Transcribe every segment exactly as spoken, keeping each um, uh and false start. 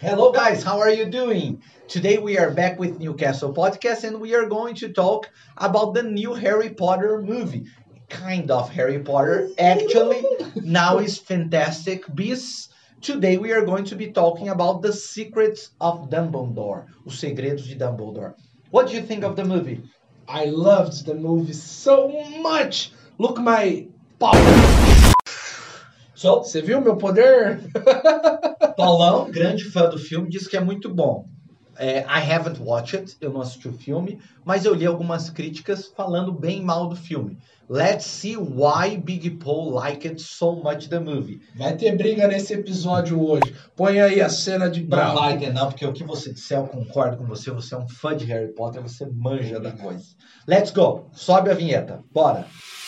Hello, guys. How are you doing? Today we are back with Newcastle Podcast and we are going to talk about the new Harry Potter movie. Kind of Harry Potter. Actually, now is Fantastic Beasts. Today we are going to be talking about the secrets of Dumbledore. Os segredos de Dumbledore. What do you think of the movie? I loved the movie so much. Look my power. So, Você viu meu poder? Paulão, grande fã do filme, disse que é muito bom. É, I haven't watched it, eu não assisti o filme, mas eu li algumas críticas falando bem mal do filme. Let's see why Big Paul liked so much the movie. Vai ter briga nesse episódio hoje. Põe aí a cena de Não bravo. vai ter não, porque o que você disser eu concordo com você, você é um fã de Harry Potter, você manja da coisa. Let's go, sobe a vinheta, bora.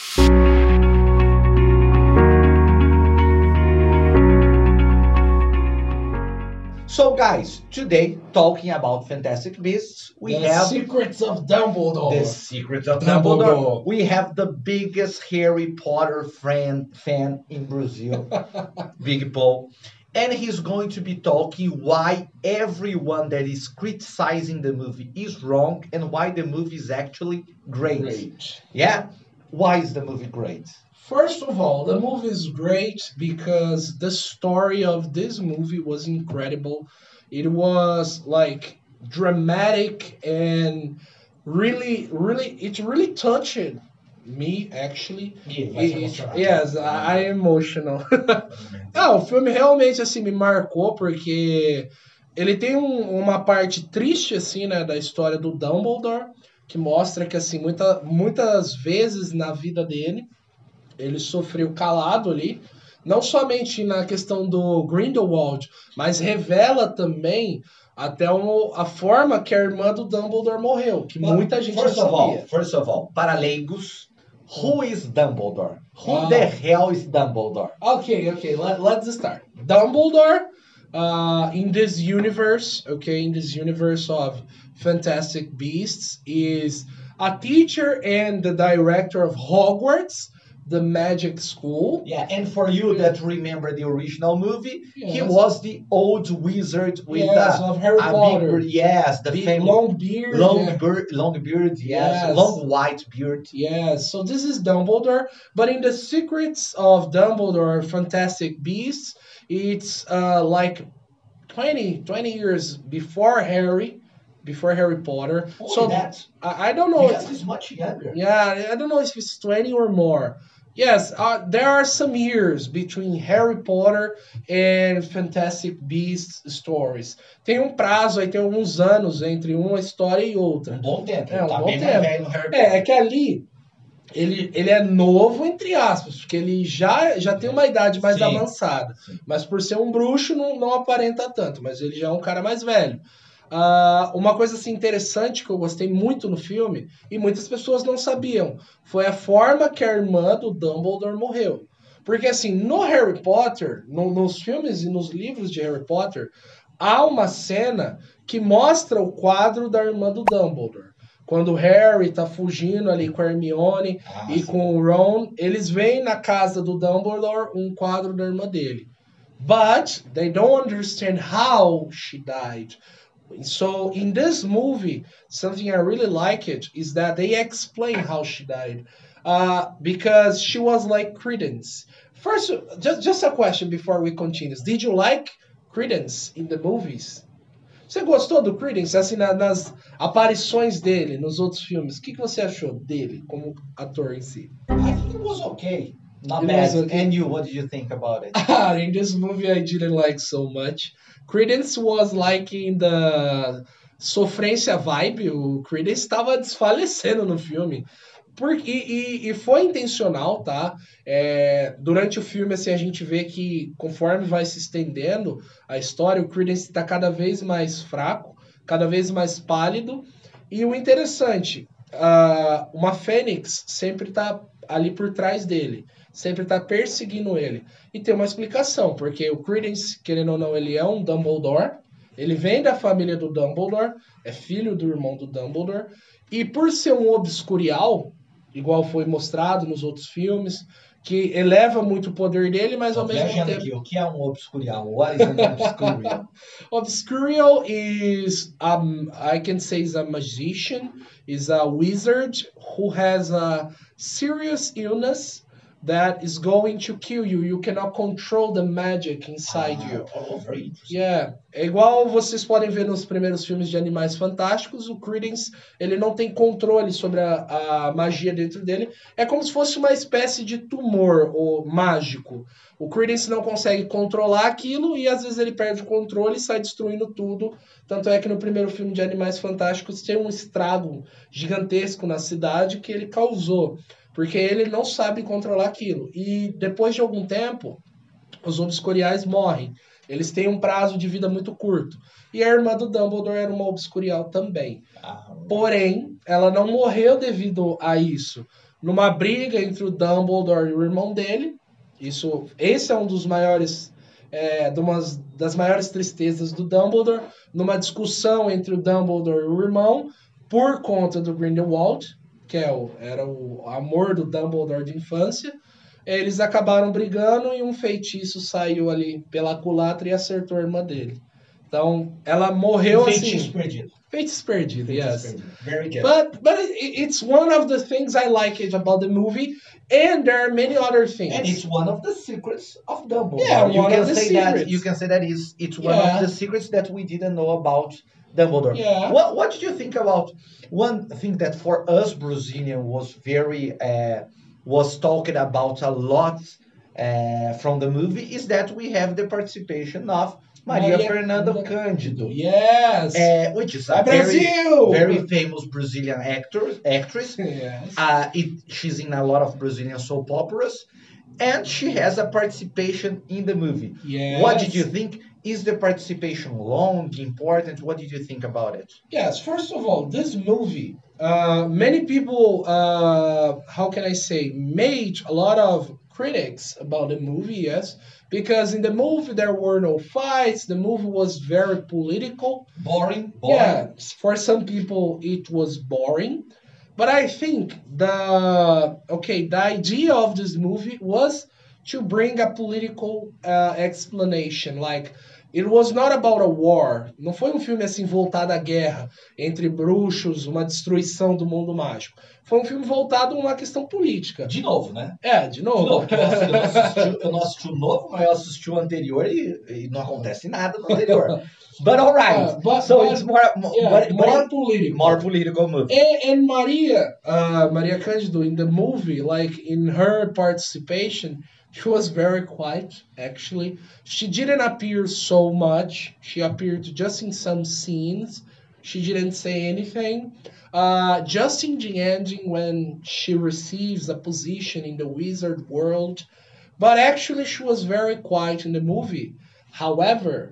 So guys, today talking about Fantastic Beasts, we The have Secrets of Dumbledore. The Secrets of Dumbledore. Dumbledore. We have the biggest Harry Potter fan fan in Brazil, Big Paul. And he's going to be talking why everyone that is criticizing the movie is wrong and why the movie is actually great. Great. Yeah? Why is the movie great? First of all, the movie is great because the story of this movie was incredible. It was like dramatic and really, really, it really touched me actually. It- yes, I, I am emotional. Ah, o filme realmente assim me marcou porque ele tem um- uma parte triste assim, né, da história do Dumbledore, que mostra que assim muita, muitas vezes na vida dele ele sofreu calado ali, não somente na questão do Grindelwald, mas revela também até o- a forma que a irmã do Dumbledore morreu, que muita gente First não of all, sabia. first of all, para leigos, who is Dumbledore? Who Ah. the hell is Dumbledore? Okay, okay, let, let's start. Dumbledore, uh, in this universe, okay, in this universe of Fantastic Beasts, is a teacher and the director of Hogwarts, the magic school. Yeah, and for you that remember the original movie, he Yes. was the old wizard with Yes, a, of Harry a Potter. big beard. Yes, the Big, famous long beard. long yeah. beard, long beard. Yes, Yes. long white beard. Yes, so this is Dumbledore, but in the Secrets of Dumbledore, Fantastic Beasts, it's uh, like twenty, twenty years before Harry, before Harry Potter. so that. I, I don't know. Because he's much younger. Yeah, I don't know if it's twenty or more. Yes, uh, there are some years between Harry Potter and Fantastic Beasts stories. Tem um prazo aí, tem alguns anos entre uma história e outra. Um bom tempo. É, um tá bom bem tempo. mais velho no Harry Potter. É, é que ali ele, ele é novo, entre aspas, porque ele já, já tem uma idade mais Sim. avançada. Sim. Mas por ser um bruxo, não, não aparenta tanto, mas ele já é um cara mais velho. Ah, uma coisa assim, interessante que eu gostei muito no filme, e muitas pessoas não sabiam, foi a forma que a irmã do Dumbledore morreu. Porque assim, no Harry Potter, no- nos filmes e nos livros de Harry Potter, há uma cena que mostra o quadro da irmã do Dumbledore. Quando o Harry tá fugindo ali com a Hermione Ah, e sim. com o Ron, eles veem na casa do Dumbledore um quadro da irmã dele. But they don't understand how she died. So in this movie, something I really like it is that they explain how she died. Uh, because she was like Credence. First, just, just a question before we continue. Did you like Credence in the movies? Você gostou do Credence, assim, na- nas aparições dele nos outros filmes? O que, que você achou dele como ator em si? I think it was okay. Not It bad. was okay. And you, what did you think about it? Ah, in this movie I didn't like so much. Credence was like in the sofrência vibe, o Credence estava desfalecendo no filme. Porque, e, e foi intencional, tá? É, durante o filme, assim, a gente vê que conforme vai se estendendo a história, o Credence está cada vez mais fraco, cada vez mais pálido. E o interessante, ah, uma Fênix sempre está ali por trás dele, sempre está perseguindo ele. E tem uma explicação, porque o Credence, querendo ou não, ele é um Dumbledore, ele vem da família do Dumbledore, é filho do irmão do Dumbledore, e por ser um obscurial, igual foi mostrado nos outros filmes, que eleva muito o poder dele, mas Tô ao mesmo viajando tempo... aqui, o que é um obscurial? What is an obscurial? Obscurial is, um, I can say, is a magician, is a wizard who has a serious illness that is going to kill you. You cannot control the magic inside Ah, you. oh, very interesting. Yeah. É igual vocês podem ver nos primeiros filmes de Animais Fantásticos, o Credence, ele não tem controle sobre a, a magia dentro dele. É como se fosse uma espécie de tumor ou mágico. O Credence não consegue controlar aquilo e às vezes ele perde o controle e sai destruindo tudo. Tanto é que no primeiro filme de Animais Fantásticos tem um estrago gigantesco na cidade que ele causou, porque ele não sabe controlar aquilo. E depois de algum tempo, os obscuriais morrem. Eles têm um prazo de vida muito curto. E a irmã do Dumbledore era uma obscurial também. Ah, Porém, ela não morreu devido a isso. Numa briga entre o Dumbledore e o irmão dele, isso, esse é um dos maiores, é, de umas das maiores tristezas do Dumbledore, numa discussão entre o Dumbledore e o irmão, por conta do Grindelwald, que é o, era o amor do Dumbledore de infância, eles acabaram brigando e um feitiço saiu ali pela culatra e acertou a irmã dele. Então, ela morreu um feitiço assim. perdido. Feitiço perdido, Feitiço yes. perdido. Very good. But but it, it's one of the things I like it about the movie, and there are many other things. And it's one of the secrets of Dumbledore. Yeah, you one can of the say secrets. that you can say that is it's one Yeah. of the secrets that we didn't know about Dumbledore. Yeah. What what did you think about one thing that for us Brazilian was very uh, was talked about a lot uh, from the movie is that we have the participation of Maria, Maria Fernanda Fernanda Cândido, Yes. uh, which is a Vai, very Brasil! very famous Brazilian actor actress. Yes. Uh, it, she's in a lot of Brazilian soap operas, and she has a participation in the movie. Yes. What did you think? Is the participation long, important? What did you think about it? Yes, first of all, this movie, uh, many people, uh, how can I say, made a lot of critics about the movie, yes, because in the movie there were no fights, the movie was very political. Boring. Boring. Yeah, for some people it was boring, but I think the, okay, the idea of this movie was to bring a political uh, explanation, like, it was not about a war. Não foi um filme assim voltado à guerra entre bruxos, uma destruição do mundo mágico. Foi um filme voltado a uma questão política. De novo, né? É, de novo. De novo, porque eu não, eu não assisti, eu não assisti o novo, mas eu assisti o anterior e, e não acontece nada no anterior. But alright, Yeah, but- so but- it's more, more, Yeah, but- but more it- political. more political movie. And, and Maria, uh, Maria Cândido in the movie, like in her participation, she was very quiet, actually. She didn't appear so much. She appeared just in some scenes. She didn't say anything. Uh, just in the ending, when she receives a position in the wizard world. But actually, she was very quiet in the movie. However,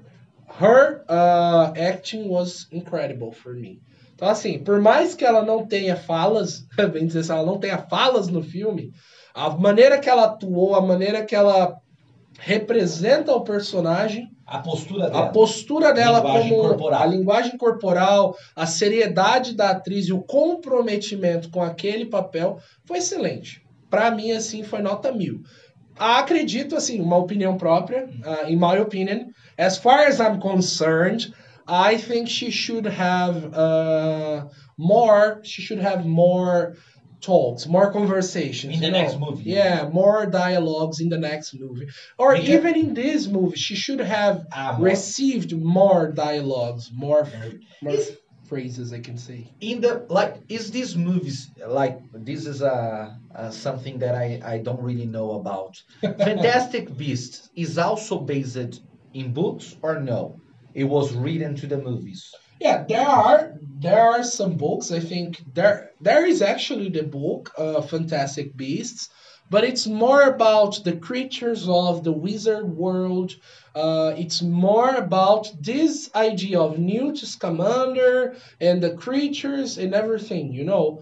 her uh, acting was incredible for me. Então, assim, por mais que ela não tenha falas, bem dizer assim, ela não tenha falas no filme, a maneira que ela atuou, a maneira que ela representa o personagem, A postura a dela. postura dela Linguagem como corporal. a linguagem corporal, a seriedade da atriz e o comprometimento com aquele papel foi excelente. Para mim, assim, foi nota mil. Acredito, assim, uma opinião própria, uh, in my opinion, as far as I'm concerned, I think she should have uh, more, she should have more talks, more conversations. In the you know? next movie. Yeah, more dialogues in the next movie. Or Because- even in this movie, she should have Ah, more- received more dialogues, more, more Is- phrases, I can say. in the like is these movies like this is a, a something that I, I don't really know about. Fantastic Beasts is also based in books or no? It was written to the movies. Yeah, there are there are some books. I think there there is actually the book, uh, Fantastic Beasts, but it's more about the creatures of the wizard world. Uh, it's more about this idea of Newt Scamander and the creatures and everything, you know.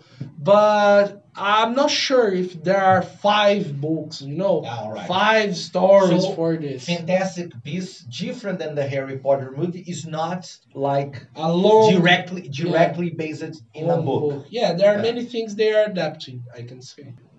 But I'm not sure if there are five books, you know, All right. five stories So, for this. Fantastic Beasts, different than the Harry Potter movie, is not like Alone directly directly based in a One book. Yeah, there are Yeah. many things they are adapting, I can say.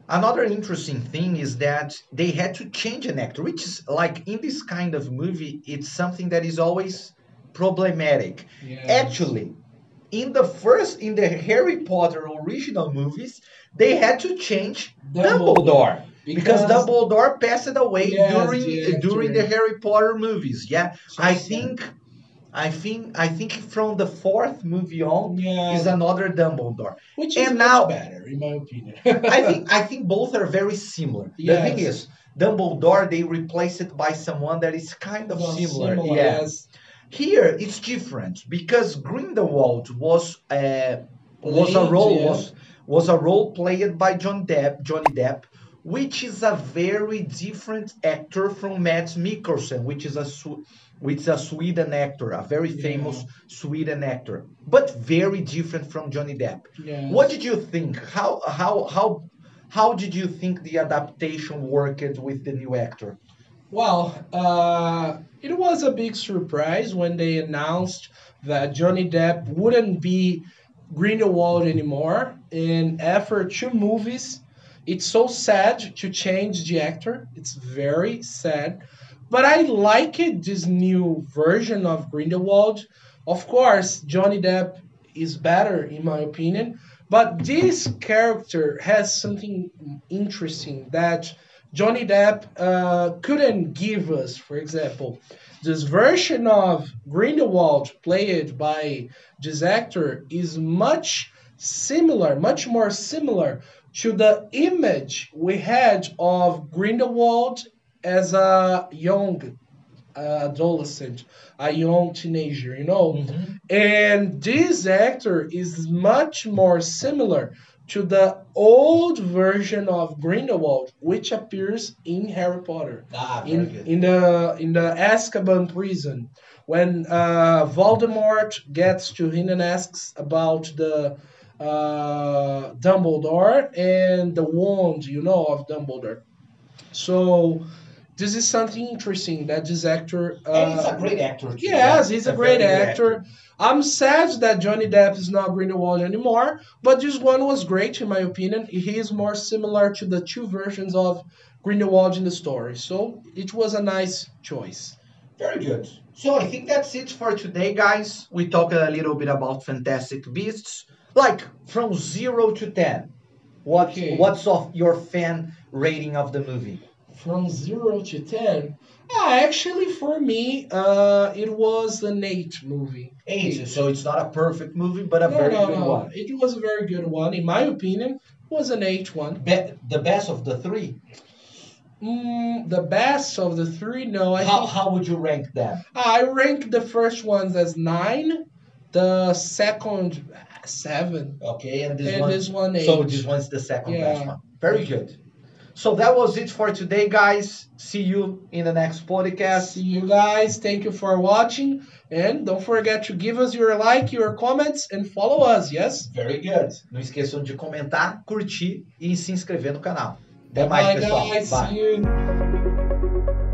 Another interesting thing is that they had to change an actor, which is like in this kind of movie, it's something that is always problematic. Yes. Actually, in the first, in the Harry Potter original movies, they had to change Dumbledore. Dumbledore because Because Dumbledore passed away yes, during the during the actor. Harry Potter movies. Yeah, So I sad. think I think I think from the fourth movie on is Yeah. another Dumbledore. Which is And much now better, in my opinion. I think I think both are very similar. The thing Yes. is, Dumbledore they replace it by someone that is kind of Well, similar. similar, Yeah. yes. Here it's different because Grindelwald was uh, was a Played, role yeah. was was a role played by John Depp, Johnny Depp, which is a very different actor from Mads Mikkelsen, which is a Sw- which is a Sweden actor, a very Yeah. famous Sweden actor, but very different from Johnny Depp. What Yes. did you think? How how how how did you think the adaptation worked with the new actor? Well, uh, it was a big surprise when they announced that Johnny Depp wouldn't be Grindelwald anymore. And after two movies, it's so sad to change the actor. It's very sad. But I like it, this new version of Grindelwald. Of course, Johnny Depp is better, in my opinion. But this character has something interesting that Johnny Depp uh, couldn't give us. For example, this version of Grindelwald played by this actor is much similar, much more similar to the image we had of Grindelwald as a young uh, adolescent, a young teenager, you know. Mhm. And this actor is much more similar to the old version of Grindelwald, which appears in Harry Potter, Ah, very in good. in the in the Azkaban prison, when uh, Voldemort gets to him and asks about the uh, Dumbledore and the wand, you know, of Dumbledore. So this is something interesting that this actor. And he's Uh, a great actor too. Yeah, yes, he's a a great very good actor. actor. I'm sad that Johnny Depp is not Grindelwald anymore, but this one was great in my opinion. He is more similar to the two versions of Grindelwald in the story, so it was a nice choice. Very good. So I think that's it for today, guys. We talked a little bit about Fantastic Beasts, like from zero to ten. What Okay. what's of your fan rating of the movie? From zero to ten. Ah, actually, for me, uh, it was an eight movie. Eight. So it's not a perfect movie, but a No, very no, good no. one. It was a very good one. In my opinion, it was an eight one. Be- the best of the three. Mm, the best of the three, no. I How think how would you rank them? I rank the first ones as nine, the second seven, Okay, and this and one. this one eight. So this one's the second best Yeah. one. Very good. So that was it for today, guys. See you in the next podcast. See you guys. Thank you for watching. And don't forget to give us your like, your comments, and follow us, yes? Very good. Não esqueçam de comentar, curtir e se inscrever no canal. Até mais, Bye, pessoal. guys. Bye. See you.